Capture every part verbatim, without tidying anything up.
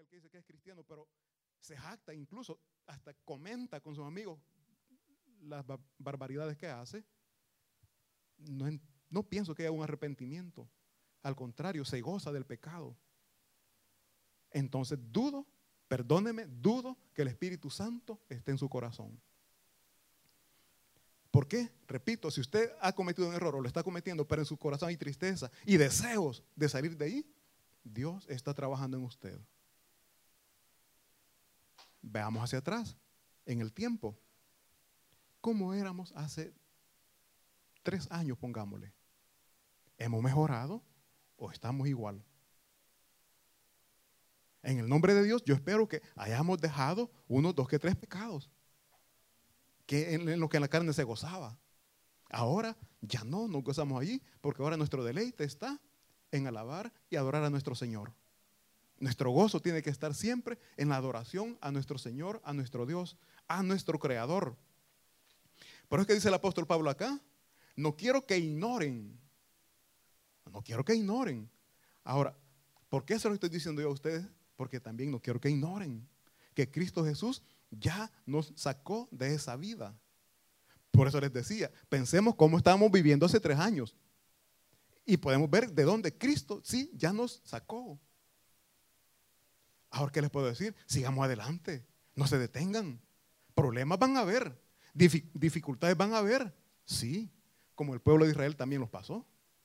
aquel que dice que es cristiano, pero se jacta, incluso hasta comenta con sus amigos las barbaridades que hace, no, no pienso que haya un arrepentimiento. Al contrario, se goza del pecado. Entonces dudo, perdóneme, dudo que el Espíritu Santo esté en su corazón. ¿Por qué? Repito, si usted ha cometido un error o lo está cometiendo, pero en su corazón hay tristeza y deseos de salir de ahí, Dios está trabajando en usted. Veamos hacia atrás, en el tiempo. ¿Cómo éramos hace tres años, pongámosle? ¿Hemos mejorado o estamos igual? En el nombre de Dios, yo espero que hayamos dejado unos dos que tres pecados que en, en lo que en la carne se gozaba. Ahora ya no nos gozamos allí, porque ahora nuestro deleite está en alabar y adorar a nuestro Señor. Nuestro gozo tiene que estar siempre en la adoración a nuestro Señor, a nuestro Dios, a nuestro Creador. Por eso es que dice el apóstol Pablo acá: no quiero que ignoren, no quiero que ignoren. Ahora, ¿por qué se lo estoy diciendo yo a ustedes? Porque también no quiero que ignoren que Cristo Jesús ya nos sacó de esa vida. Por eso les decía, pensemos cómo estábamos viviendo hace tres años y podemos ver de dónde Cristo sí ya nos sacó. Ahora, ¿qué les puedo decir? Sigamos adelante, no se detengan. Problemas van a haber, dificultades van a haber, sí, como el pueblo de Israel también los pasó.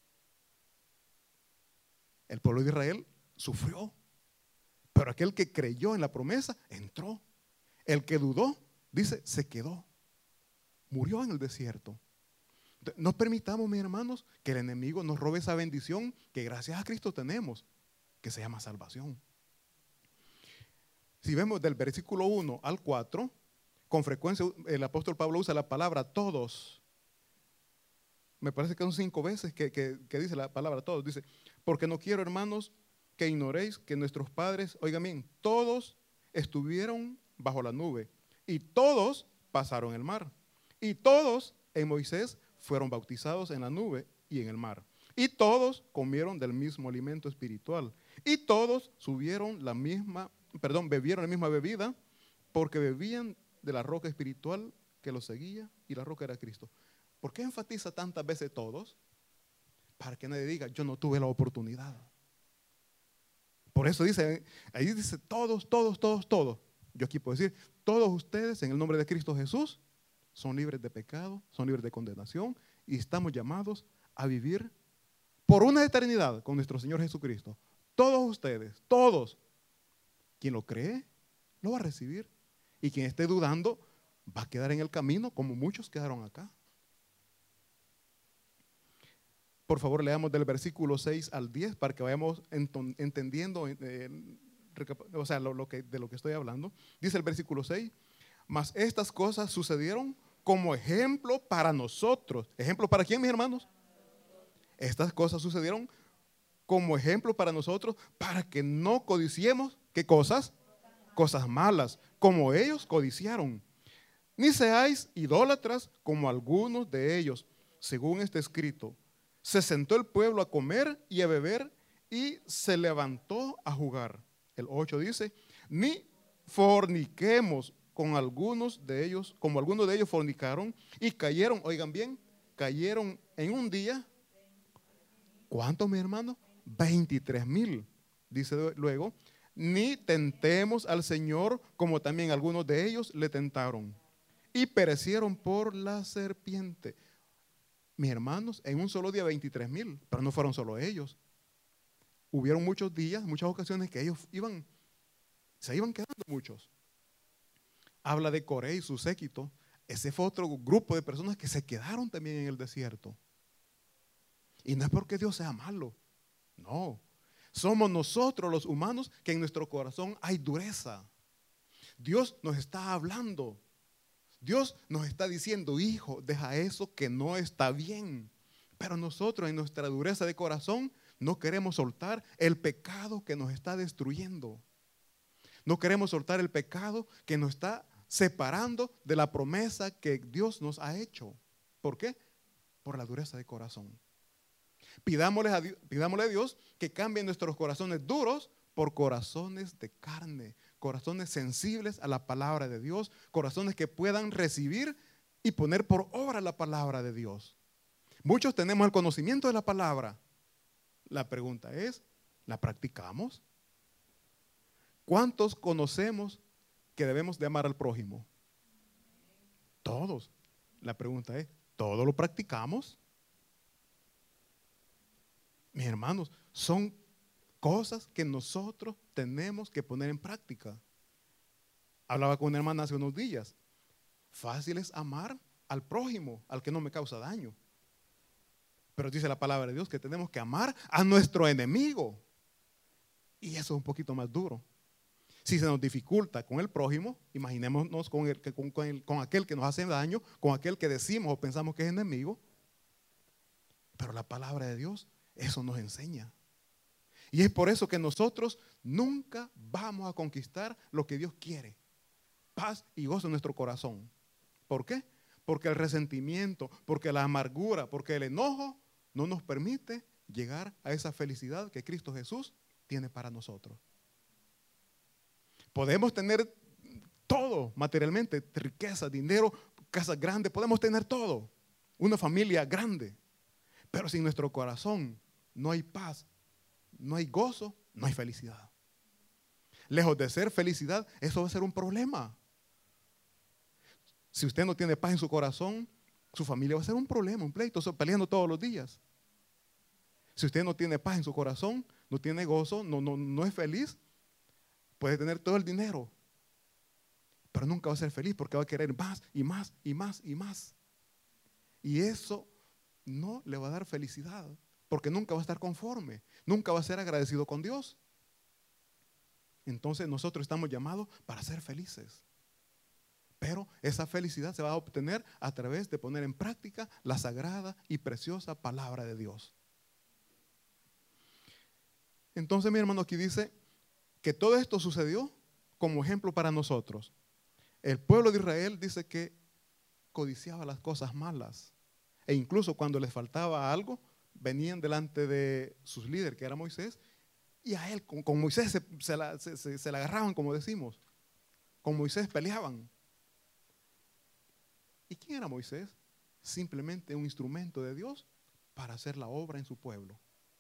El pueblo de Israel sufrió, pero aquel que creyó en la promesa entró. El que dudó, dice, se quedó, murió en el desierto. No permitamos, mis hermanos, que el enemigo nos robe esa bendición que gracias a Cristo tenemos, que se llama salvación. Si vemos del versículo uno al cuatro, con frecuencia el apóstol Pablo usa la palabra todos. Me parece que son cinco veces que, que, que dice la palabra todos. Dice, porque no quiero, hermanos, que ignoréis que nuestros padres, oigan bien, todos estuvieron bajo la nube y todos pasaron el mar. Y todos en Moisés fueron bautizados en la nube y en el mar. Y todos comieron del mismo alimento espiritual. Y todos subieron la misma, perdón, bebieron la misma bebida, porque bebían de la roca espiritual que los seguía, y la roca era Cristo. ¿Por qué enfatiza tantas veces todos? Para que nadie diga, yo no tuve la oportunidad. Por eso dice, ahí dice todos, todos, todos, todos. Yo aquí puedo decir, todos ustedes en el nombre de Cristo Jesús son libres de pecado, son libres de condenación y estamos llamados a vivir por una eternidad con nuestro Señor Jesucristo. Todos ustedes, todos. Quien lo cree, lo va a recibir. Y quien esté dudando, va a quedar en el camino como muchos quedaron acá. Por favor, leamos del versículo seis al diez para que vayamos entendiendo eh, o sea, lo, lo que, de lo que estoy hablando. Dice el versículo seis, mas estas cosas sucedieron como ejemplo para nosotros. ¿Ejemplo para quién, mis hermanos? Estas cosas sucedieron como ejemplo para nosotros, para que no codiciemos, ¿qué cosas? Cosas malas, como ellos codiciaron. Ni seáis idólatras como algunos de ellos, según está escrito. Se sentó el pueblo a comer y a beber y se levantó a jugar. El ocho dice, ni forniquemos con algunos de ellos, como algunos de ellos fornicaron y cayeron, oigan bien, cayeron en un día. ¿Cuántos, mi hermano? veintitrés mil. Dice luego, ni tentemos al Señor como también algunos de ellos le tentaron y perecieron por la serpiente. Mis hermanos, en un solo día veintitrés mil, pero no fueron solo ellos. Hubieron muchos días, muchas ocasiones que ellos iban, se iban quedando muchos. Habla de Coré y su séquito. Ese fue otro grupo de personas que se quedaron también en el desierto. Y no es porque Dios sea malo, no. Somos nosotros los humanos que en nuestro corazón hay dureza. Dios nos está hablando. Dios nos está diciendo, hijo, deja eso que no está bien. Pero nosotros en nuestra dureza de corazón no queremos soltar el pecado que nos está destruyendo. No queremos soltar el pecado que nos está separando de la promesa que Dios nos ha hecho. ¿Por qué? Por la dureza de corazón. Pidámosle a Dios, pidámosle a Dios que cambie nuestros corazones duros por corazones de carne, corazones sensibles a la palabra de Dios, corazones que puedan recibir y poner por obra la palabra de Dios. Muchos tenemos el conocimiento de la palabra. La pregunta es, ¿la practicamos? ¿Cuántos conocemos que debemos de amar al prójimo? Todos. La pregunta es, ¿todos lo practicamos? Mis hermanos, son cosas que nosotros tenemos que poner en práctica. Hablaba con una hermana hace unos días. Fácil es amar al prójimo, al que no me causa daño. Pero dice la palabra de Dios que tenemos que amar a nuestro enemigo. Y eso es un poquito más duro. Si se nos dificulta con el prójimo, imaginémonos con, el, con, con, el, con aquel que nos hace daño, con aquel que decimos o pensamos que es enemigo. Pero la palabra de Dios, eso nos enseña. Y es por eso que nosotros nunca vamos a conquistar lo que Dios quiere. Paz y gozo en nuestro corazón. ¿Por qué? Porque el resentimiento, porque la amargura, porque el enojo no nos permite llegar a esa felicidad que Cristo Jesús tiene para nosotros. Podemos tener todo materialmente, riqueza, dinero, casas grandes, podemos tener todo, una familia grande, pero si en nuestro corazón no hay paz, no hay gozo, no hay felicidad. Lejos de ser felicidad, eso va a ser un problema. Si usted no tiene paz en su corazón, su familia va a ser un problema, un pleito, peleando todos los días. Si usted no tiene paz en su corazón, no tiene gozo, no, no, no es feliz, puede tener todo el dinero, pero nunca va a ser feliz porque va a querer más y más y más y más. Y eso no le va a dar felicidad, porque nunca va a estar conforme, nunca va a ser agradecido con Dios. Entonces nosotros estamos llamados para ser felices. Pero esa felicidad se va a obtener a través de poner en práctica la sagrada y preciosa palabra de Dios. Entonces, mi hermano, aquí dice que todo esto sucedió como ejemplo para nosotros. El pueblo de Israel dice que codiciaba las cosas malas. E incluso cuando les faltaba algo, venían delante de sus líderes, que era Moisés, y a él, con, con Moisés se, se, la, se, se, se la agarraban, como decimos. Con Moisés peleaban. ¿Y quién era Moisés? Simplemente un instrumento de Dios para hacer la obra en su pueblo.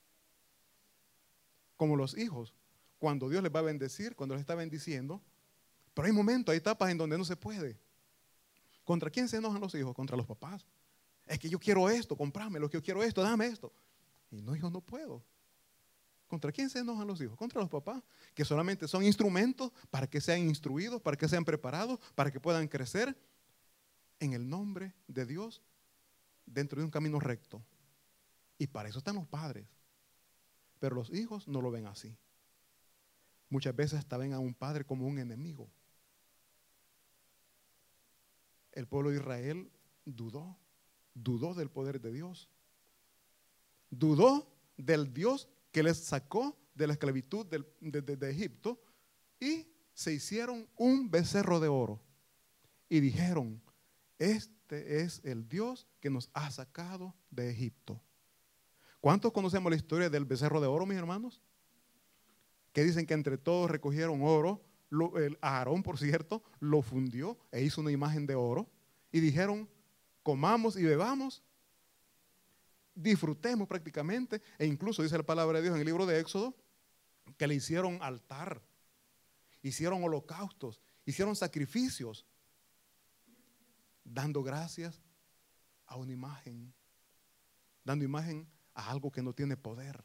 Como los hijos, cuando Dios les va a bendecir, cuando les está bendiciendo, pero hay momentos, hay etapas en donde no se puede. ¿Contra quién se enojan los hijos? Contra los papás. Es que yo quiero esto, comprame lo que yo quiero esto, dame esto. Y no, hijo, no puedo. ¿Contra quién se enojan los hijos? Contra los papás, que solamente son instrumentos para que sean instruidos, para que sean preparados, para que puedan crecer en el nombre de Dios dentro de un camino recto. Y para eso están los padres. Pero los hijos no lo ven así. Muchas veces hasta ven a un padre como un enemigo. El pueblo de Israel dudó, dudó del poder de Dios. Dudó del Dios que les sacó de la esclavitud de, de, de, de Egipto y se hicieron un becerro de oro. Y dijeron, este es el Dios que nos ha sacado de Egipto. ¿Cuántos conocemos la historia del becerro de oro, mis hermanos? Que dicen que entre todos recogieron oro. Lo, el Aarón, por cierto, lo fundió e hizo una imagen de oro. Y dijeron, comamos y bebamos, disfrutemos prácticamente. E incluso dice la palabra de Dios en el libro de Éxodo, que le hicieron altar, hicieron holocaustos, hicieron sacrificios, dando gracias a una imagen, dando imagen a algo que no tiene poder.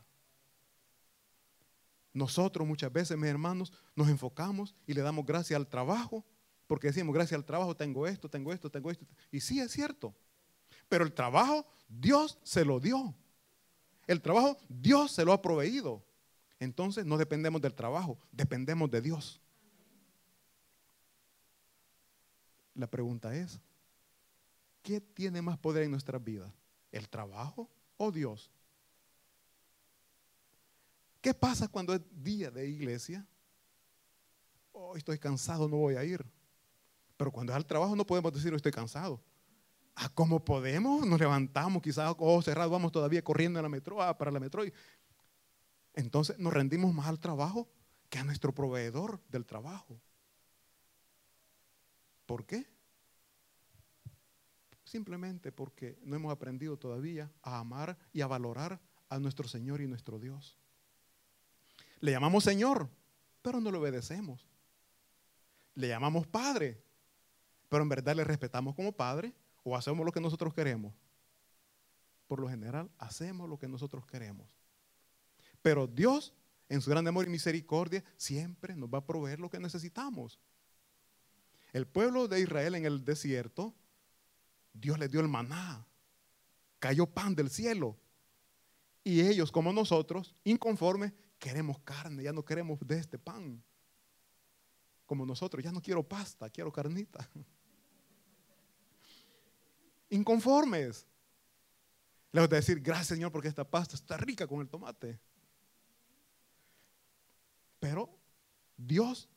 Nosotros muchas veces, mis hermanos, nos enfocamos y le damos gracias al trabajo, porque decimos, gracias al trabajo tengo esto, tengo esto, tengo esto. Y sí, es cierto. Pero el trabajo, Dios se lo dio. El trabajo, Dios se lo ha proveído. Entonces, no dependemos del trabajo, dependemos de Dios. La pregunta es, ¿qué tiene más poder en nuestras vidas? ¿El trabajo o Dios? ¿Qué pasa cuando es día de iglesia? Oh, estoy cansado, no voy a ir. Pero cuando es al trabajo no podemos decir, estoy cansado. Ah, ¿cómo podemos? Nos levantamos, quizás ojos cerrados, vamos todavía corriendo en la metro, ah, para la metro. Y entonces nos rendimos más al trabajo que a nuestro proveedor del trabajo. ¿Por qué? Simplemente porque no hemos aprendido todavía a amar y a valorar a nuestro Señor y nuestro Dios. Le llamamos Señor, pero no le obedecemos. Le llamamos Padre, pero en verdad le respetamos como Padre o hacemos lo que nosotros queremos. Por lo general, hacemos lo que nosotros queremos. Pero Dios, en su gran amor y misericordia, siempre nos va a proveer lo que necesitamos. El pueblo de Israel en el desierto, Dios les dio el maná, cayó pan del cielo. Y ellos, como nosotros, inconformes, queremos carne, ya no queremos de este pan. Como nosotros, ya no quiero pasta, quiero carnita. Inconformes. Le voy a decir, gracias Señor porque esta pasta está rica con el tomate. Pero Dios,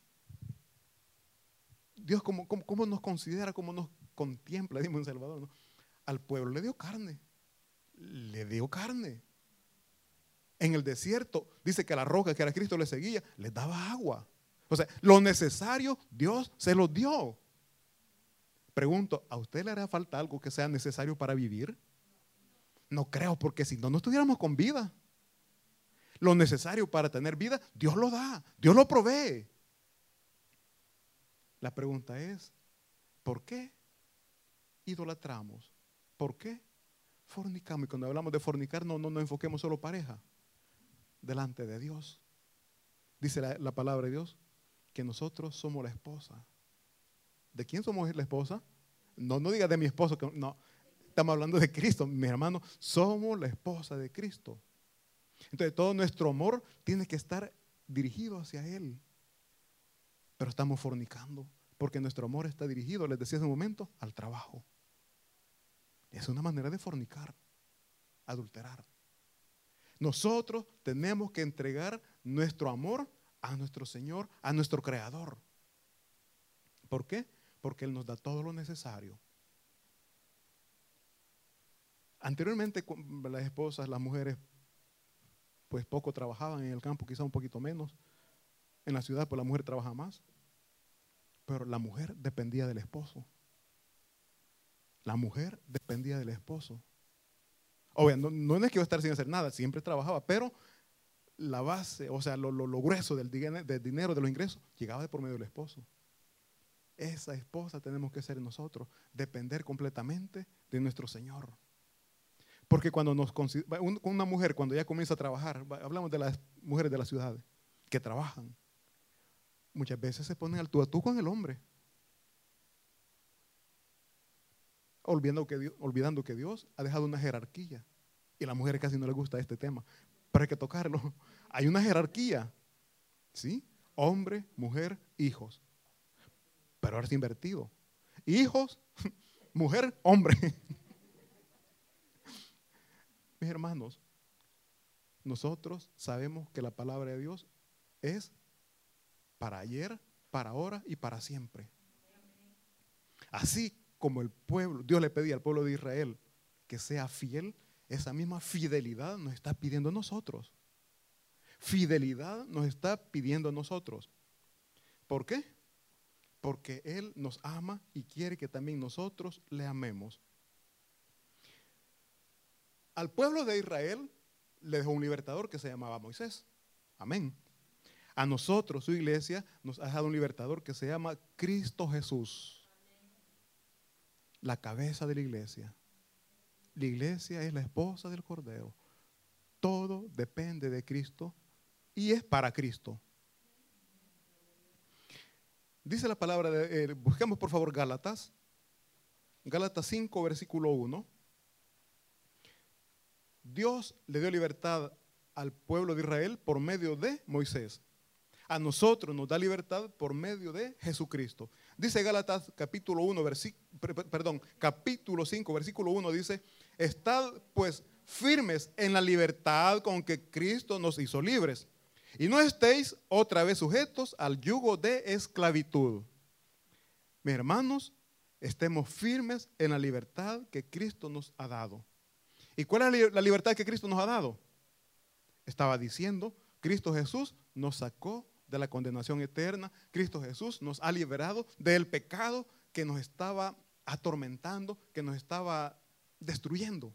Dios como, como, como nos considera, como nos contempla, dimos en Salvador, ¿no? Al pueblo le dio carne, le dio carne. En el desierto, dice que la roca que era Cristo le seguía, les daba agua. O sea, lo necesario Dios se lo dio. Pregunto, ¿a usted le hará falta algo que sea necesario para vivir? No creo, porque si no, no estuviéramos con vida. Lo necesario para tener vida, Dios lo da, Dios lo provee. La pregunta es, ¿por qué idolatramos? ¿Por qué fornicamos? Y cuando hablamos de fornicar, no, no nos enfoquemos solo pareja. Delante de Dios. Dice la, la palabra de Dios que nosotros somos la esposa. ¿De quién somos la esposa? No, no diga de mi esposo, que no. Estamos hablando de Cristo, mis hermanos. Somos la esposa de Cristo. Entonces todo nuestro amor tiene que estar dirigido hacia Él. Pero estamos fornicando porque nuestro amor está dirigido, les decía hace un momento, al trabajo. Es una manera de fornicar, adulterar. Nosotros tenemos que entregar nuestro amor a nuestro Señor, a nuestro Creador. ¿Por qué? Porque Él nos da todo lo necesario. Anteriormente las esposas, las mujeres, pues poco trabajaban en el campo, quizá un poquito menos. En la ciudad, pues la mujer trabaja más. Pero la mujer dependía del esposo. La mujer dependía del esposo. Obvio, no, no es que iba a estar sin hacer nada, siempre trabajaba, pero la base, o sea, lo, lo, lo grueso del, del dinero, de los ingresos, llegaba de por medio del esposo. Esa esposa tenemos que ser nosotros, depender completamente de nuestro Señor. Porque cuando nos una mujer, cuando ya comienza a trabajar, hablamos de las mujeres de las ciudades que trabajan, muchas veces se ponen al tú a tú con el hombre, olvidando que Dios, olvidando que Dios ha dejado una jerarquía. Y a las mujeres casi no les gusta este tema, pero hay que tocarlo. Hay una jerarquía, ¿sí? Hombre, mujer, hijos. Pero ahora es invertido. Hijos, mujer, hombre. Mis hermanos, nosotros sabemos que la palabra de Dios es para ayer, para ahora y para siempre. Así como el pueblo, Dios le pedía al pueblo de Israel que sea fiel, esa misma fidelidad nos está pidiendo a nosotros. Fidelidad nos está pidiendo a nosotros. ¿Por qué? Porque Él nos ama y quiere que también nosotros le amemos. Al pueblo de Israel le dejó un libertador que se llamaba Moisés. Amén. A nosotros, su iglesia, nos ha dejado un libertador que se llama Cristo Jesús. La cabeza de la iglesia. La iglesia es la esposa del Cordero. Todo depende de Cristo y es para Cristo. Dice la palabra, de, eh, busquemos por favor Gálatas. Gálatas cinco, versículo uno. Dios le dio libertad al pueblo de Israel por medio de Moisés. A nosotros nos da libertad por medio de Jesucristo. Dice Gálatas capítulo uno, perdón, capítulo cinco, versículo uno, dice: estad pues firmes en la libertad con que Cristo nos hizo libres, y no estéis otra vez sujetos al yugo de esclavitud. Mis hermanos, estemos firmes en la libertad que Cristo nos ha dado. ¿Y cuál es la libertad que Cristo nos ha dado? Estaba diciendo, Cristo Jesús nos sacó de la condenación eterna. Cristo Jesús nos ha liberado del pecado que nos estaba atormentando, que nos estaba destruyendo.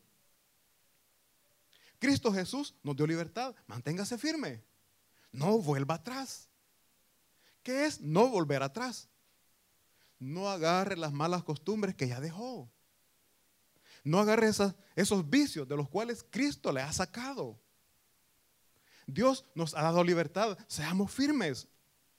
Cristo Jesús nos dio libertad. Manténgase firme. No vuelva atrás. ¿Qué es no volver atrás? No agarre las malas costumbres que ya dejó. No agarre esas, esos vicios de los cuales Cristo le ha sacado. Dios nos ha dado libertad. Seamos firmes.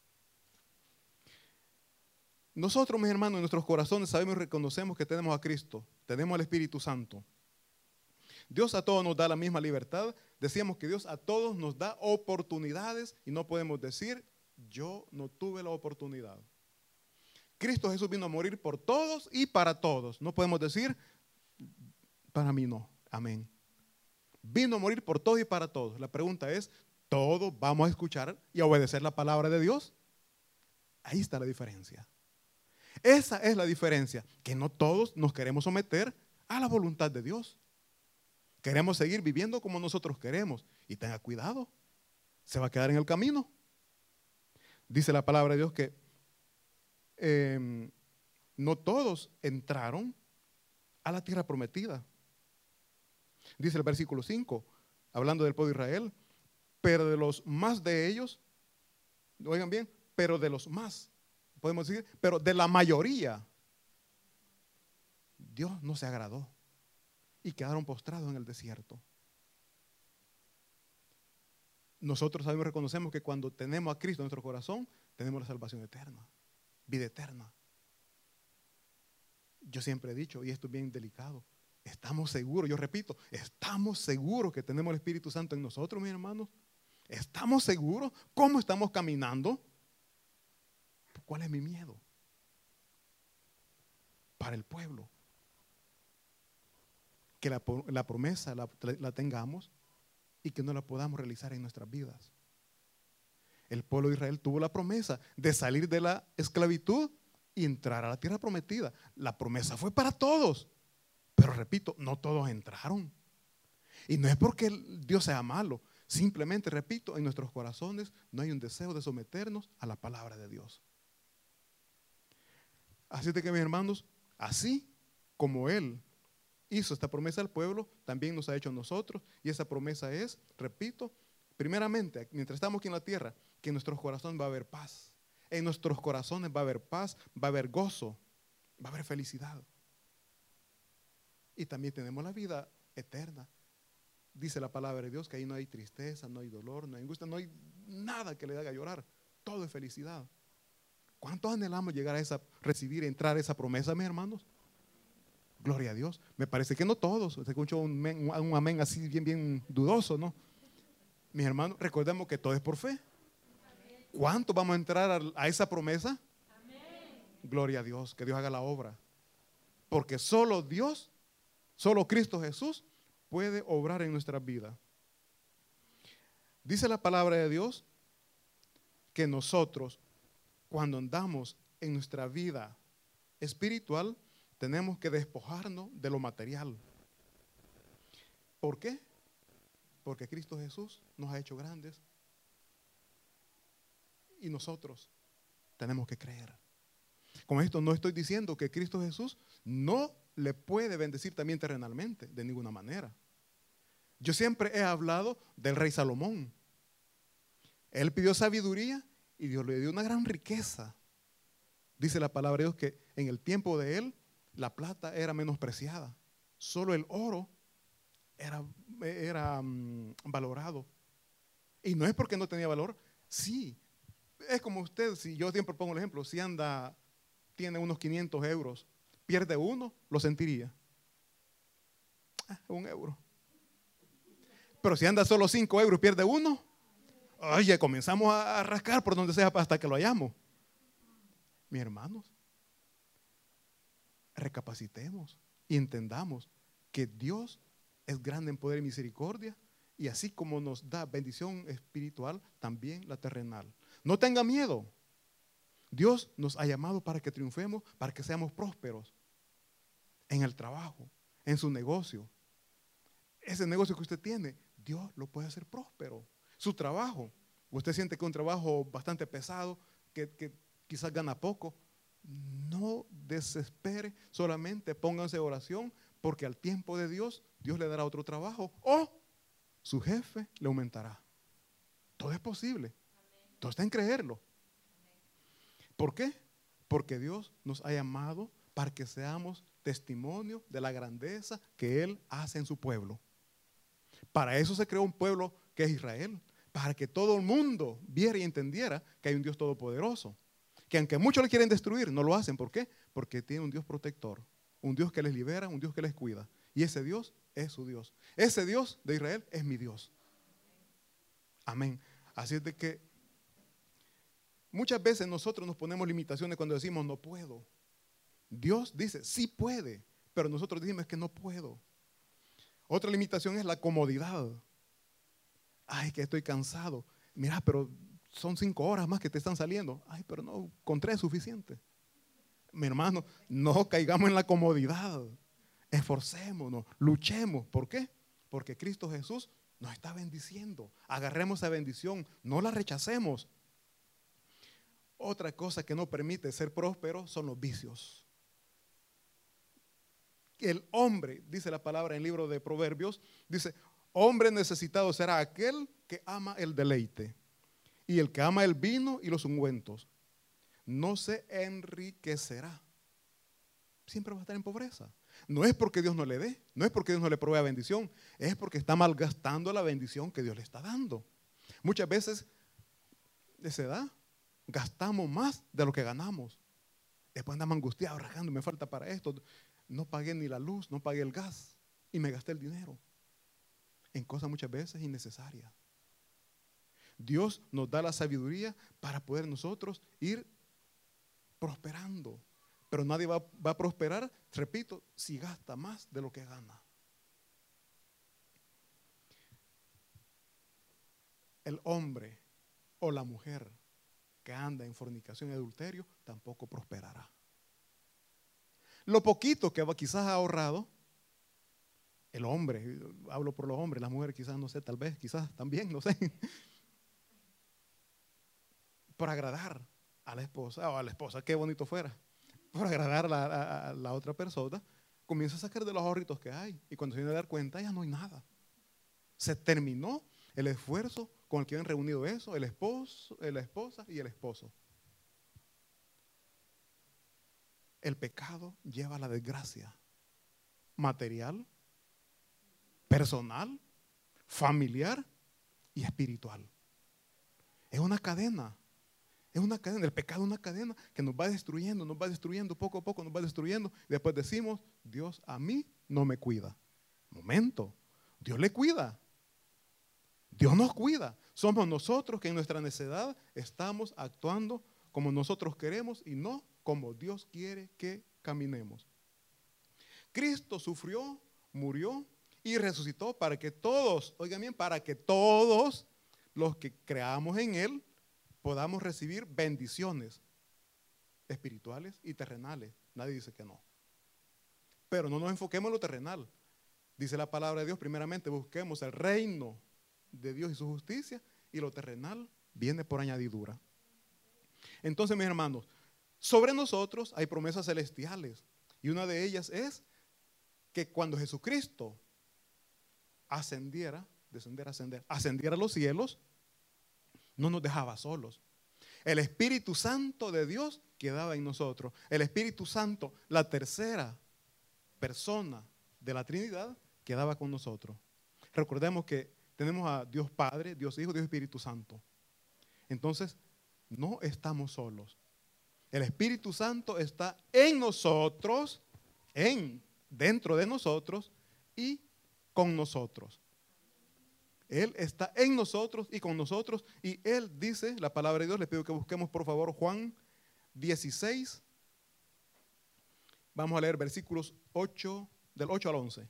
Nosotros, mis hermanos, en nuestros corazones sabemos y reconocemos que tenemos a Cristo. Tenemos al Espíritu Santo. Dios a todos nos da la misma libertad. Decíamos que Dios a todos nos da oportunidades y no podemos decir, yo no tuve la oportunidad. Cristo Jesús vino a morir por todos y para todos. No podemos decir, para mí no. Amén. Vino a morir por todos y para todos. La pregunta es, ¿todos vamos a escuchar y a obedecer la palabra de Dios? Ahí está la diferencia. Esa es la diferencia, que no todos nos queremos someter a la voluntad de Dios. Queremos seguir viviendo como nosotros queremos. Y tenga cuidado, se va a quedar en el camino. Dice la palabra de Dios que eh, no todos entraron a la tierra prometida. Dice el versículo cinco, hablando del pueblo de Israel, pero de los más de ellos, oigan bien, pero de los más, podemos decir, pero de la mayoría, Dios no se agradó y quedaron postrados en el desierto. Nosotros sabemos y reconocemos que cuando tenemos a Cristo en nuestro corazón, tenemos la salvación eterna, vida eterna. Yo siempre he dicho, y esto es bien delicado, estamos seguros, yo repito, estamos seguros que tenemos el Espíritu Santo en nosotros, mis hermanos. ¿Estamos seguros? ¿Cómo estamos caminando? ¿Cuál es mi miedo? Para el pueblo. Que la, la promesa la, la tengamos y que no la podamos realizar en nuestras vidas. El pueblo de Israel tuvo la promesa de salir de la esclavitud y entrar a la tierra prometida. La promesa fue para todos. Pero repito, no todos entraron. Y no es porque Dios sea malo. Simplemente, repito, en nuestros corazones no hay un deseo de someternos a la palabra de Dios. Así de que, mis hermanos, así como Él hizo esta promesa al pueblo, también nos ha hecho a nosotros. Y esa promesa es, repito, primeramente, mientras estamos aquí en la tierra, que en nuestros corazones va a haber paz. En nuestros corazones va a haber paz, va a haber gozo, va a haber felicidad. Y también tenemos la vida eterna. Dice la palabra de Dios que ahí no hay tristeza, no hay dolor, no hay angustia, no hay nada que le haga llorar. Todo es felicidad. ¿Cuántos anhelamos llegar a esa, recibir, entrar a esa promesa, mis hermanos? Gloria a Dios. Me parece que no todos. Se escuchó un, un, un amén así bien, bien dudoso, ¿no? Mis hermanos, recordemos que todo es por fe. ¿Cuántos vamos a entrar a, a esa promesa? Amén. Gloria a Dios, que Dios haga la obra. Porque solo Dios, solo Cristo Jesús puede obrar en nuestras vidas. Dice la palabra de Dios que nosotros, cuando andamos en nuestra vida espiritual, tenemos que despojarnos de lo material. ¿Por qué? Porque Cristo Jesús nos ha hecho grandes y nosotros tenemos que creer. Con esto no estoy diciendo que Cristo Jesús no le puede bendecir también terrenalmente, de ninguna manera. Yo siempre he hablado del rey Salomón. Él pidió sabiduría y Dios le dio una gran riqueza. Dice la palabra de Dios que en el tiempo de él la plata era menospreciada. Solo el oro era, era um, valorado. Y no es porque no tenía valor. Sí, es como usted, si yo siempre pongo el ejemplo, si anda, tiene unos quinientos euros, pierde uno, lo sentiría. Ah, un euro. Pero si anda solo cinco euros, pierde uno. Oye, comenzamos a rascar por donde sea hasta que lo hallamos. Mis hermanos, recapacitemos y entendamos que Dios es grande en poder y misericordia, y así como nos da bendición espiritual, también la terrenal. No tenga miedo. Dios nos ha llamado para que triunfemos, para que seamos prósperos en el trabajo, en su negocio. Ese negocio que usted tiene, Dios lo puede hacer próspero. Su trabajo, Usted siente que es un trabajo bastante pesado, que, que quizás gana poco. No desespere, solamente pónganse en oración, porque al tiempo de Dios, Dios le dará otro trabajo o su jefe le aumentará. Todo es posible. Todo está en creerlo. ¿Por qué? Porque Dios nos ha llamado para que seamos testimonio de la grandeza que Él hace en su pueblo. Para eso se creó un pueblo que es Israel, para que todo el mundo viera y entendiera que hay un Dios todopoderoso, que aunque muchos le quieren destruir, no lo hacen. ¿Por qué? Porque tiene un Dios protector, un Dios que les libera, un Dios que les cuida. Y ese Dios es su Dios. Ese Dios de Israel es mi Dios. Amén. Así es de que muchas veces nosotros nos ponemos limitaciones cuando decimos no puedo. Dios dice sí puede, pero nosotros decimos que no puedo. Otra limitación es la comodidad. Ay, que estoy cansado. Mira, pero son cinco horas más que te están saliendo. Ay, pero no, con tres es suficiente. Mi hermano, no caigamos en la comodidad. Esforcémonos, luchemos. ¿Por qué? Porque Cristo Jesús nos está bendiciendo. Agarremos esa bendición, no la rechacemos. Otra cosa que no permite ser próspero son los vicios. El hombre, dice la palabra en el libro de Proverbios, dice, hombre necesitado será aquel que ama el deleite y el que ama el vino y los ungüentos. No se enriquecerá. Siempre va a estar en pobreza. No es porque Dios no le dé, no es porque Dios no le provea bendición, es porque está malgastando la bendición que Dios le está dando. Muchas veces de esa edad gastamos más de lo que ganamos. Después andamos angustiados, rajando, me falta para esto. No pagué ni la luz, no pagué el gas y me gasté el dinero en cosas muchas veces innecesarias. Dios nos da la sabiduría para poder nosotros ir prosperando. Pero nadie va, va a prosperar, repito, si gasta más de lo que gana. El hombre o la mujer que anda en fornicación y adulterio tampoco prosperará. Lo poquito que quizás ha ahorrado, el hombre, hablo por los hombres, las mujeres quizás no sé, tal vez, quizás también, no sé, por agradar a la esposa o a la esposa, qué bonito fuera. Por agradar a la, a, a la otra persona, comienza a sacar de los ahorritos que hay. Y cuando se viene a dar cuenta, ya no hay nada. Se terminó el esfuerzo con el que habían reunido eso, el esposo, la esposa y el esposo. El pecado lleva a la desgracia material, personal, familiar y espiritual. Es una cadena. Es una cadena, el pecado es una cadena que nos va destruyendo, nos va destruyendo, poco a poco nos va destruyendo. Y después decimos, Dios a mí no me cuida. Momento, Dios le cuida. Dios nos cuida. Somos nosotros que en nuestra necedad estamos actuando como nosotros queremos y no como Dios quiere que caminemos. Cristo sufrió, murió y resucitó para que todos, oigan bien, para que todos los que creamos en Él podamos recibir bendiciones espirituales y terrenales. Nadie dice que no. Pero no nos enfoquemos en lo terrenal. Dice la palabra de Dios, primeramente busquemos el reino de Dios y su justicia, y lo terrenal viene por añadidura. Entonces, mis hermanos, sobre nosotros hay promesas celestiales, y una de ellas es que cuando Jesucristo ascendiera, descendiera, ascender, ascendiera a los cielos, no nos dejaba solos. El Espíritu Santo de Dios quedaba en nosotros. El Espíritu Santo, la tercera persona de la Trinidad, quedaba con nosotros. Recordemos que tenemos a Dios Padre, Dios Hijo, Dios Espíritu Santo. Entonces, no estamos solos. El Espíritu Santo está en nosotros, en, dentro de nosotros y con nosotros. Él está en nosotros y con nosotros, y Él dice, la palabra de Dios, les pido que busquemos por favor Juan dieciséis, vamos a leer versículos ocho, del ocho al once.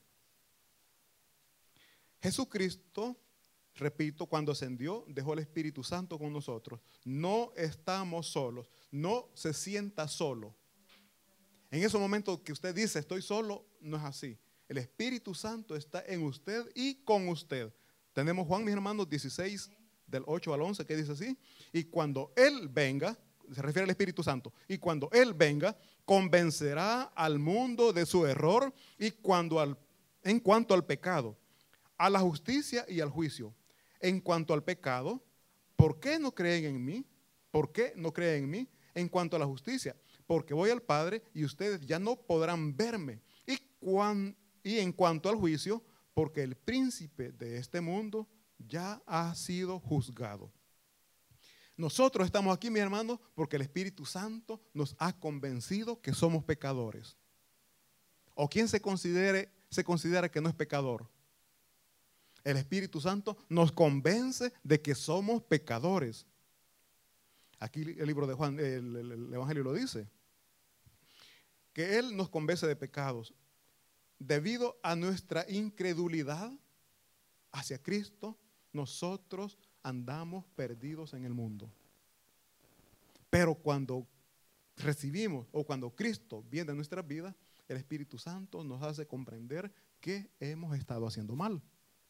Jesucristo, repito, cuando ascendió, dejó el Espíritu Santo con nosotros. No estamos solos, no se sienta solo. En esos momentos que usted dice, estoy solo, no es así. El Espíritu Santo está en usted y con usted. Tenemos Juan, mis hermanos, dieciséis, del ocho al once, que dice así: y cuando Él venga, se refiere al Espíritu Santo, y cuando Él venga, convencerá al mundo de su error y cuando al, en cuanto al pecado, a la justicia y al juicio. En cuanto al pecado, ¿por qué no creen en mí? ¿Por qué no creen en mí? En cuanto a la justicia, porque voy al Padre y ustedes ya no podrán verme. Y, cuan, y en cuanto al juicio, porque el príncipe de este mundo ya ha sido juzgado. Nosotros estamos aquí, mis hermanos, porque el Espíritu Santo nos ha convencido que somos pecadores. ¿O quién se considere, se considera que no es pecador? El Espíritu Santo nos convence de que somos pecadores. Aquí el libro de Juan, el, el, el Evangelio lo dice, que Él nos convence de pecados debido a nuestra incredulidad hacia Cristo. Nosotros andamos perdidos en el mundo. Pero cuando recibimos o cuando Cristo viene a nuestras vidas, el Espíritu Santo nos hace comprender que hemos estado haciendo mal.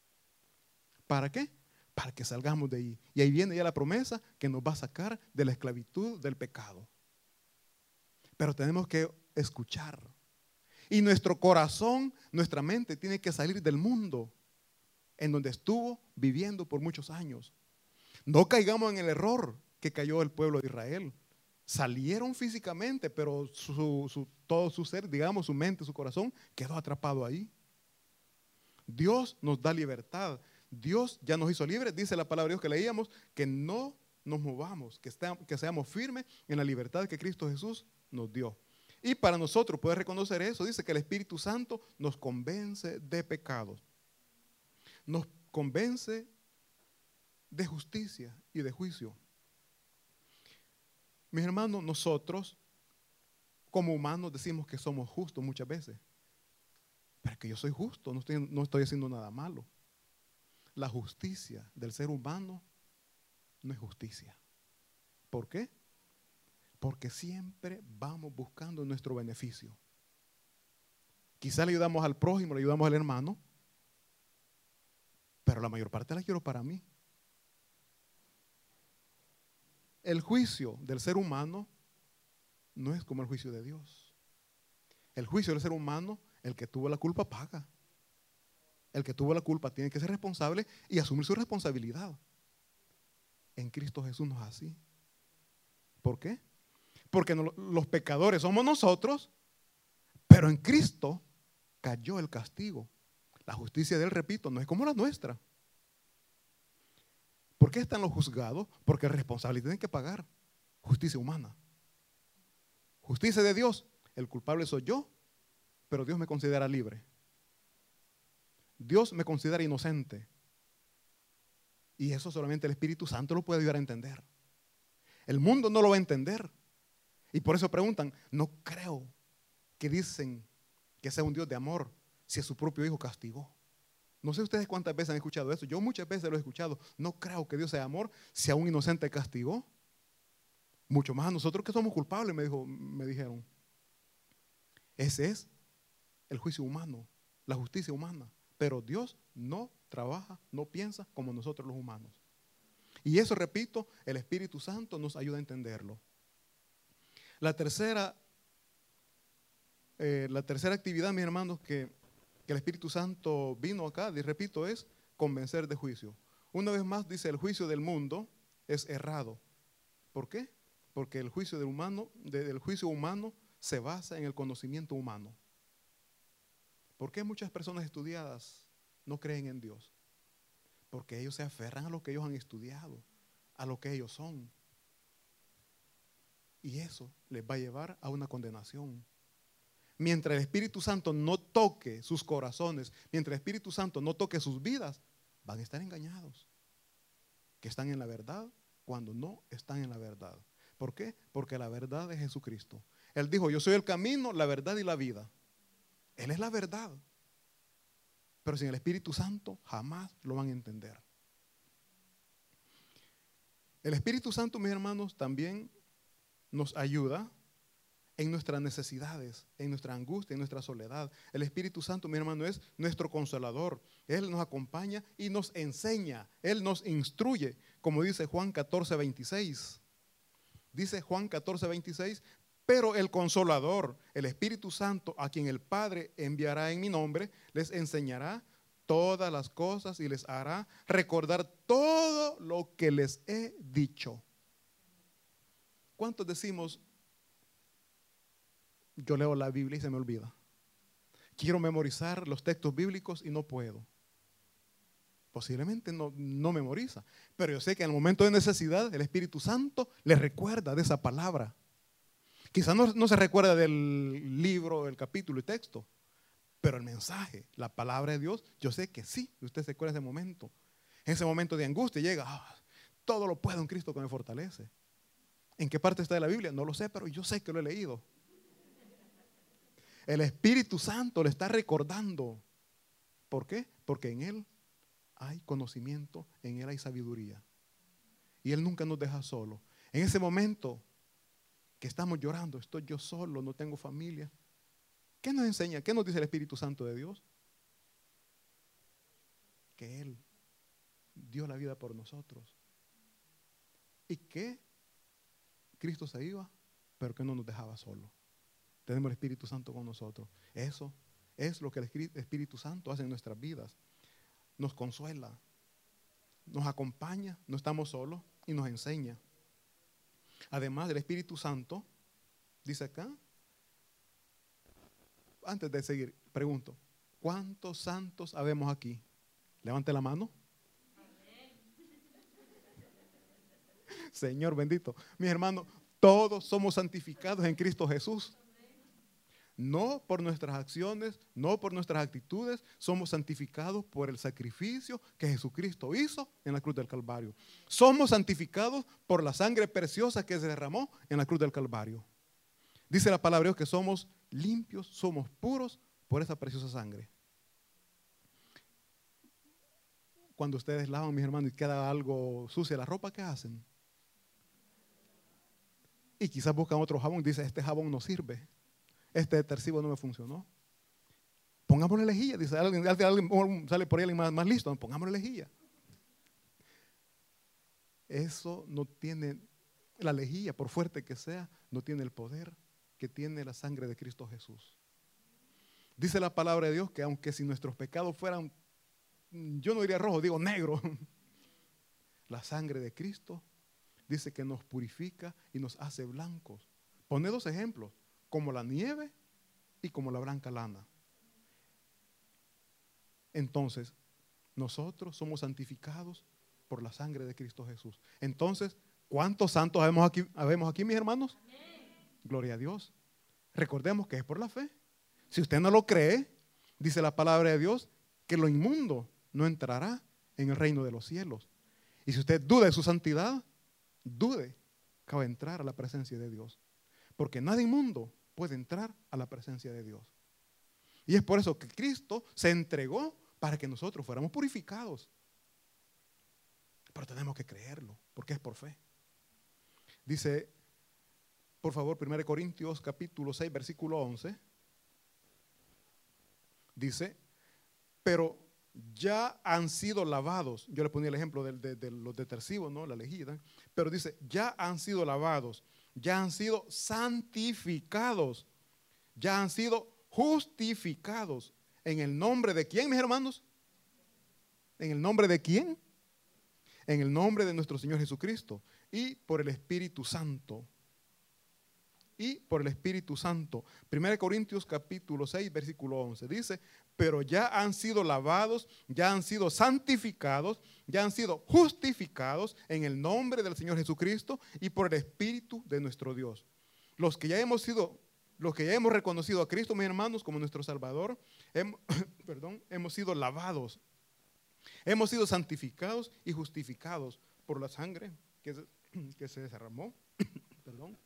¿Para qué? Para que salgamos de ahí. Y ahí viene ya la promesa que nos va a sacar de la esclavitud del pecado. Pero tenemos que escuchar. Y nuestro corazón, nuestra mente tiene que salir del mundo en donde estuvo viviendo por muchos años. No caigamos en el error que cayó el pueblo de Israel. Salieron físicamente, pero su, su, todo su ser, digamos, su mente, su corazón, quedó atrapado ahí. Dios nos da libertad. Dios ya nos hizo libres. Dice la palabra de Dios que leíamos, que no nos movamos, que, está, que seamos firmes en la libertad que Cristo Jesús nos dio. Y para nosotros poder reconocer eso, dice que el Espíritu Santo nos convence de pecados. Nos convence de justicia y de juicio. Mis hermanos, nosotros como humanos decimos que somos justos muchas veces. Pero es que yo soy justo, no estoy, no estoy haciendo nada malo. La justicia del ser humano no es justicia. ¿Por qué? Porque siempre vamos buscando nuestro beneficio. Quizá le ayudamos al prójimo, le ayudamos al hermano, pero la mayor parte la quiero para mí. El juicio del ser humano no es como el juicio de Dios. El juicio del ser humano, el que tuvo la culpa paga. El que tuvo la culpa tiene que ser responsable y asumir su responsabilidad. En Cristo Jesús no es así. ¿Por qué? Porque no, los pecadores somos nosotros, pero en Cristo cayó el castigo. La justicia de Él, repito, no es como la nuestra. ¿Por qué están los juzgados? Porque el responsable tiene que pagar. Justicia humana. Justicia de Dios. El culpable soy yo, pero Dios me considera libre. Dios me considera inocente. Y eso solamente el Espíritu Santo lo puede ayudar a entender. El mundo no lo va a entender. Y por eso preguntan, no creo que dicen que sea un Dios de amor si a su propio hijo castigó. No sé ustedes cuántas veces han escuchado eso. Yo muchas veces lo he escuchado. No creo que Dios sea amor si a un inocente castigó. Mucho más a nosotros que somos culpables, me, dijo, me dijeron. Ese es el juicio humano, la justicia humana. Pero Dios no trabaja, no piensa como nosotros los humanos. Y eso, repito, el Espíritu Santo nos ayuda a entenderlo. La tercera, eh, la tercera actividad, mis hermanos, que, que el Espíritu Santo vino acá, y repito, es convencer de juicio. Una vez más dice, el juicio del mundo es errado. ¿Por qué? Porque el juicio del humano, del juicio humano se basa en el conocimiento humano. ¿Por qué muchas personas estudiadas no creen en Dios? Porque ellos se aferran a lo que ellos han estudiado, a lo que ellos son. Y eso les va a llevar a una condenación. Mientras el Espíritu Santo no toque sus corazones, mientras el Espíritu Santo no toque sus vidas, van a estar engañados. Que están en la verdad cuando no están en la verdad. ¿Por qué? Porque la verdad es Jesucristo. Él dijo, yo soy el camino, la verdad y la vida. Él es la verdad. Pero sin el Espíritu Santo jamás lo van a entender. El Espíritu Santo, mis hermanos, también nos ayuda en nuestras necesidades, en nuestra angustia, en nuestra soledad. El Espíritu Santo, mi hermano, es nuestro consolador. Él nos acompaña y nos enseña. Él nos instruye. como dice Juan catorce, veintiséis. Dice Juan catorce, veintiséis, pero el Consolador, el Espíritu Santo, a quien el Padre enviará en mi nombre, les enseñará todas las cosas y les hará recordar todo lo que les he dicho. ¿Cuántos decimos, yo leo la Biblia y se me olvida? Quiero memorizar los textos bíblicos y no puedo. Posiblemente no, no memoriza, pero yo sé que en el momento de necesidad el Espíritu Santo le recuerda de esa palabra. Quizás no, no se recuerda del libro, del capítulo y texto, pero el mensaje, la palabra de Dios, yo sé que sí, usted se acuerda de ese momento. En ese momento de angustia llega, ah, todo lo puedo en Cristo que me fortalece. ¿En qué parte está de la Biblia? No lo sé, pero yo sé que lo he leído. El Espíritu Santo le está recordando. ¿Por qué? Porque en Él hay conocimiento, en Él hay sabiduría. Y Él nunca nos deja solo. En ese momento que estamos llorando, estoy yo solo, no tengo familia. ¿Qué nos enseña? ¿Qué nos dice el Espíritu Santo de Dios? Que Él dio la vida por nosotros. Y que Cristo se iba, pero que no nos dejaba solo. Tenemos el Espíritu Santo con nosotros. Eso es lo que el Espíritu Santo hace en nuestras vidas. Nos consuela, nos acompaña, no estamos solos y nos enseña. Además del Espíritu Santo, dice acá, antes de seguir, pregunto, ¿cuántos santos habemos aquí? Levante la mano. Señor bendito. Mis hermanos, todos somos santificados en Cristo Jesús. No por nuestras acciones, no por nuestras actitudes, somos santificados por el sacrificio que Jesucristo hizo en la cruz del Calvario. Somos santificados por la sangre preciosa que se derramó en la cruz del Calvario. Dice la palabra de Dios que somos limpios, somos puros por esa preciosa sangre. Cuando ustedes lavan, mis hermanos, y queda algo sucia la ropa, ¿qué hacen? Y quizás buscan otro jabón y dicen, este jabón no sirve. Este detersivo no me funcionó. Pongámosle lejía, dice alguien, alguien sale por ahí alguien más, más listo, pongámosle lejía. Eso no tiene, la lejía, por fuerte que sea, no tiene el poder que tiene la sangre de Cristo Jesús. Dice la palabra de Dios que aunque si nuestros pecados fueran, yo no diría rojo, digo negro, la sangre de Cristo dice que nos purifica y nos hace blancos. Pone dos ejemplos, como la nieve y como la blanca lana. Entonces, nosotros somos santificados por la sangre de Cristo Jesús. Entonces, ¿cuántos santos habemos aquí, habemos aquí mis hermanos? Amén. Gloria a Dios. Recordemos que es por la fe. Si usted no lo cree, dice la palabra de Dios, que lo inmundo no entrará en el reino de los cielos. Y si usted duda de su santidad, dude que va a entrar a la presencia de Dios. Porque nada inmundo puede entrar a la presencia de Dios. Y es por eso que Cristo se entregó para que nosotros fuéramos purificados. Pero tenemos que creerlo, porque es por fe. Dice, por favor, primera Corintios capítulo seis, versículo once. Dice, pero ya han sido lavados. Yo le ponía el ejemplo de, de, de los detergentes, ¿no? La lejía. Pero dice, ya han sido lavados, ya han sido santificados, ya han sido justificados. ¿En el nombre de quién, mis hermanos? ¿En el nombre de quién? En el nombre de nuestro Señor Jesucristo y por el Espíritu Santo. Y por el Espíritu Santo. primera Corintios capítulo seis, versículo once. Dice, pero ya han sido lavados, ya han sido santificados, ya han sido justificados en el nombre del Señor Jesucristo y por el Espíritu de nuestro Dios. Los que ya hemos sido, los que ya hemos reconocido a Cristo, mis hermanos, como nuestro Salvador, hemos, perdón, hemos sido lavados, hemos sido santificados y justificados por la sangre que se, que se derramó, perdón.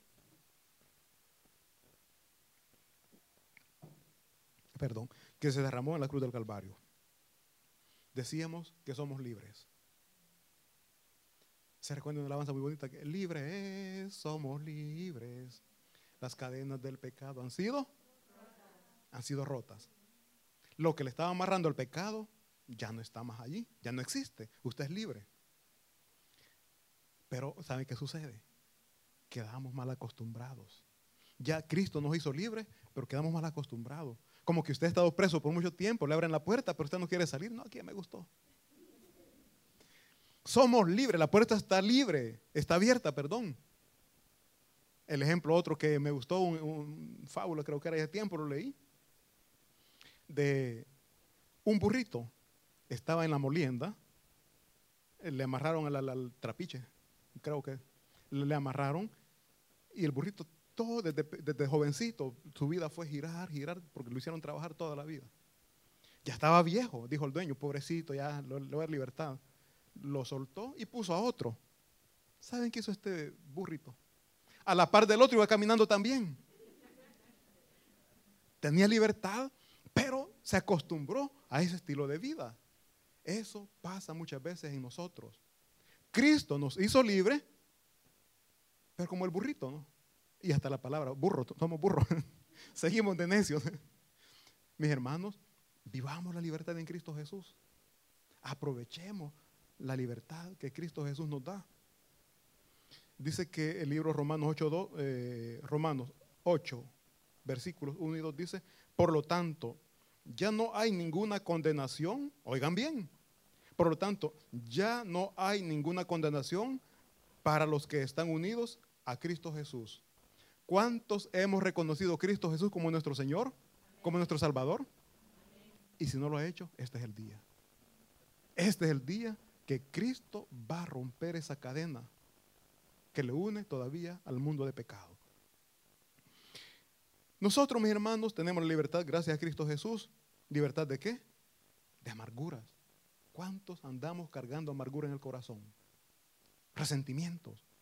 Perdón, que se derramó en la cruz del Calvario. Decíamos que somos libres. ¿Se recuerda una alabanza muy bonita? Que libre es, somos libres. Las cadenas del pecado han sido rotas. Han sido rotas. Lo que le estaba amarrando al pecado ya no está más allí, ya no existe. Usted es libre. Pero ¿saben qué sucede? Quedamos mal acostumbrados. Ya Cristo nos hizo libres, pero quedamos mal acostumbrados. Como que usted ha estado preso por mucho tiempo, le abren la puerta, pero usted no quiere salir. No, aquí ya me gustó. Somos libres, la puerta está libre, está abierta, perdón. El ejemplo otro que me gustó, un, un fábula, creo que era hace tiempo, lo leí, de un burrito. Estaba en la molienda, le amarraron al, al, al trapiche, creo que le, le amarraron, y el burrito todo desde, desde jovencito, su vida fue girar, girar, porque lo hicieron trabajar toda la vida. Ya estaba viejo, dijo el dueño, pobrecito, ya le voy a dar libertad. Lo soltó y puso a otro. ¿Saben qué hizo este burrito? A la par del otro iba caminando también. Tenía libertad, pero se acostumbró a ese estilo de vida. Eso pasa muchas veces en nosotros. Cristo nos hizo libre, pero como el burrito, ¿no? Y hasta la palabra, burro, somos burros. Seguimos de necios. Mis hermanos, vivamos la libertad en Cristo Jesús. Aprovechemos la libertad que Cristo Jesús nos da. Dice que el libro Romanos ocho, dos, eh, Romanos ocho, versículos uno y dos dice, por lo tanto, ya no hay ninguna condenación, oigan bien, por lo tanto, ya no hay ninguna condenación para los que están unidos a Cristo Jesús. ¿Cuántos hemos reconocido a Cristo Jesús como nuestro Señor, como nuestro Salvador? Y si no lo ha hecho, este es el día. Este es el día que Cristo va a romper esa cadena que le une todavía al mundo de pecado. Nosotros, mis hermanos, tenemos la libertad gracias a Cristo Jesús. ¿Libertad de qué? De amarguras. ¿Cuántos andamos cargando amargura en el corazón? Resentimientos.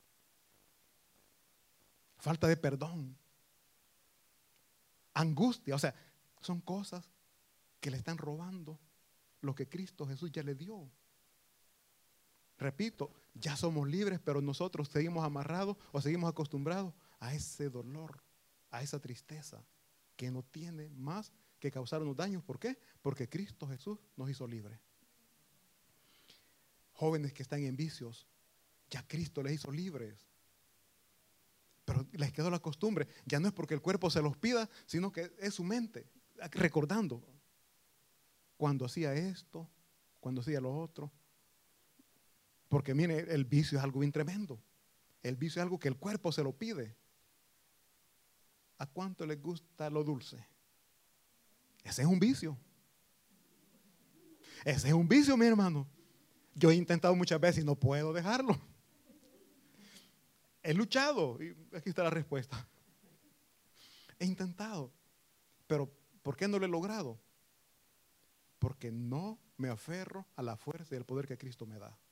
Falta de perdón. Angustia. O sea, son cosas que le están robando lo que Cristo Jesús ya le dio. Repito, ya somos libres, pero nosotros seguimos amarrados o seguimos acostumbrados a ese dolor, a esa tristeza que no tiene más que causarnos daños. ¿Por qué? Porque Cristo Jesús nos hizo libres. Jóvenes que están en vicios, ya Cristo les hizo libres. Pero les quedó la costumbre. Ya no es porque el cuerpo se los pida, sino que es su mente, recordando. Cuando hacía esto, cuando hacía lo otro. Porque mire, el vicio es algo bien tremendo. El vicio es algo que el cuerpo se lo pide. ¿A cuánto les gusta lo dulce? Ese es un vicio. Ese es un vicio, mi hermano. Yo he intentado muchas veces y no puedo dejarlo. He luchado y aquí está la respuesta. He intentado, pero ¿por qué no lo he logrado? Porque no me aferro a la fuerza y al poder que Cristo me da.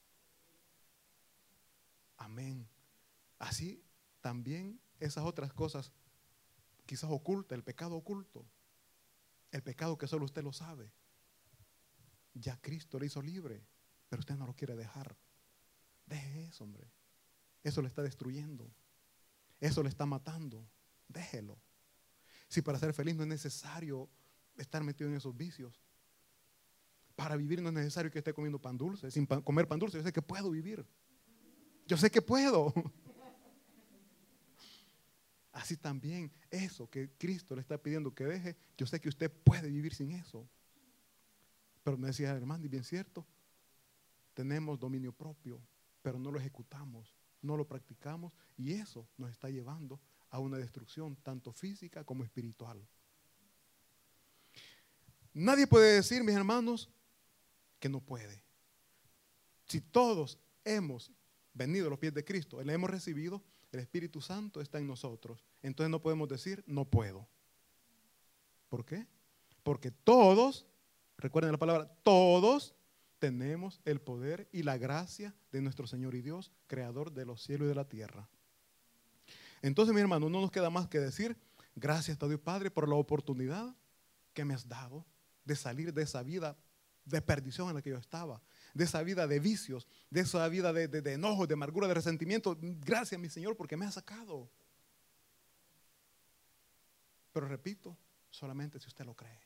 Amén. Así también esas otras cosas quizás ocultas, el pecado oculto, el pecado que solo usted lo sabe. Ya Cristo le hizo libre, pero usted no lo quiere dejar. Deje eso, hombre. Eso le está destruyendo. Eso le está matando. Déjelo. Si para ser feliz no es necesario estar metido en esos vicios. Para vivir no es necesario que esté comiendo pan dulce. Sin pan, comer pan dulce, yo sé que puedo vivir. Yo sé que puedo. Así también, eso que Cristo le está pidiendo que deje, yo sé que usted puede vivir sin eso. Pero me decía, hermano, y bien cierto, tenemos dominio propio, pero no lo ejecutamos, no lo practicamos, y eso nos está llevando a una destrucción, tanto física como espiritual. Nadie puede decir, mis hermanos, que no puede. Si todos hemos venido a los pies de Cristo, le hemos recibido, el Espíritu Santo está en nosotros. Entonces no podemos decir, no puedo. ¿Por qué? Porque todos, recuerden la palabra, todos tenemos el poder y la gracia de nuestro Señor y Dios, creador de los cielos y de la tierra. Entonces, mi hermano, no nos queda más que decir, gracias a Dios Padre por la oportunidad que me has dado de salir de esa vida de perdición en la que yo estaba, de esa vida de vicios, de esa vida de, de, de enojo, de amargura, de resentimiento. Gracias, mi Señor, porque me ha sacado. Pero repito, solamente si usted lo cree.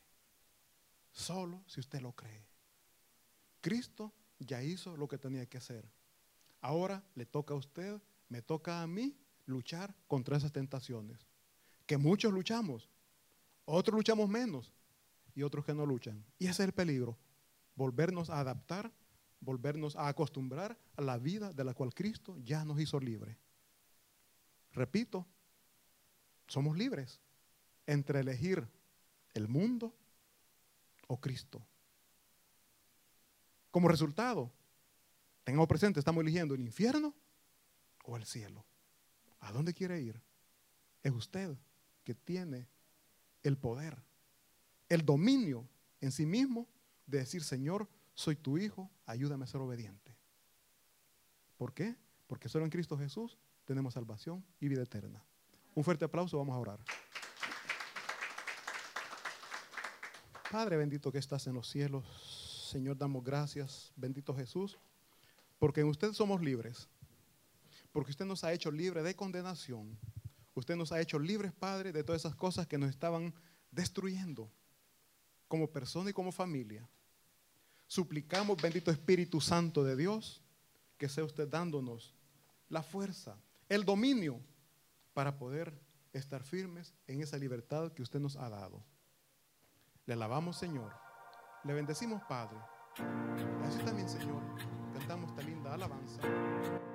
Solo si usted lo cree. Cristo ya hizo lo que tenía que hacer. Ahora le toca a usted, me toca a mí luchar contra esas tentaciones. Que muchos luchamos, otros luchamos menos y otros que no luchan. Y ese es el peligro, volvernos a adaptar, volvernos a acostumbrar a la vida de la cual Cristo ya nos hizo libre. Repito, somos libres entre elegir el mundo o Cristo. Como resultado, tengamos presente, estamos eligiendo el infierno o el cielo. ¿A dónde quiere ir? Es usted que tiene el poder, el dominio en sí mismo de decir, Señor, soy tu hijo, ayúdame a ser obediente. ¿Por qué? Porque solo en Cristo Jesús tenemos salvación y vida eterna. Un fuerte aplauso, vamos a orar. Padre bendito que estás en los cielos, Señor, damos gracias, bendito Jesús, porque en usted somos libres, porque usted nos ha hecho libres de condenación. Usted nos ha hecho libres, Padre, de todas esas cosas que nos estaban destruyendo como persona y como familia. Suplicamos, bendito Espíritu Santo de Dios, que sea usted dándonos la fuerza, el dominio para poder estar firmes en esa libertad que usted nos ha dado. Le alabamos, Señor. Le bendecimos, Padre. Así también, Señor, cantamos esta linda alabanza.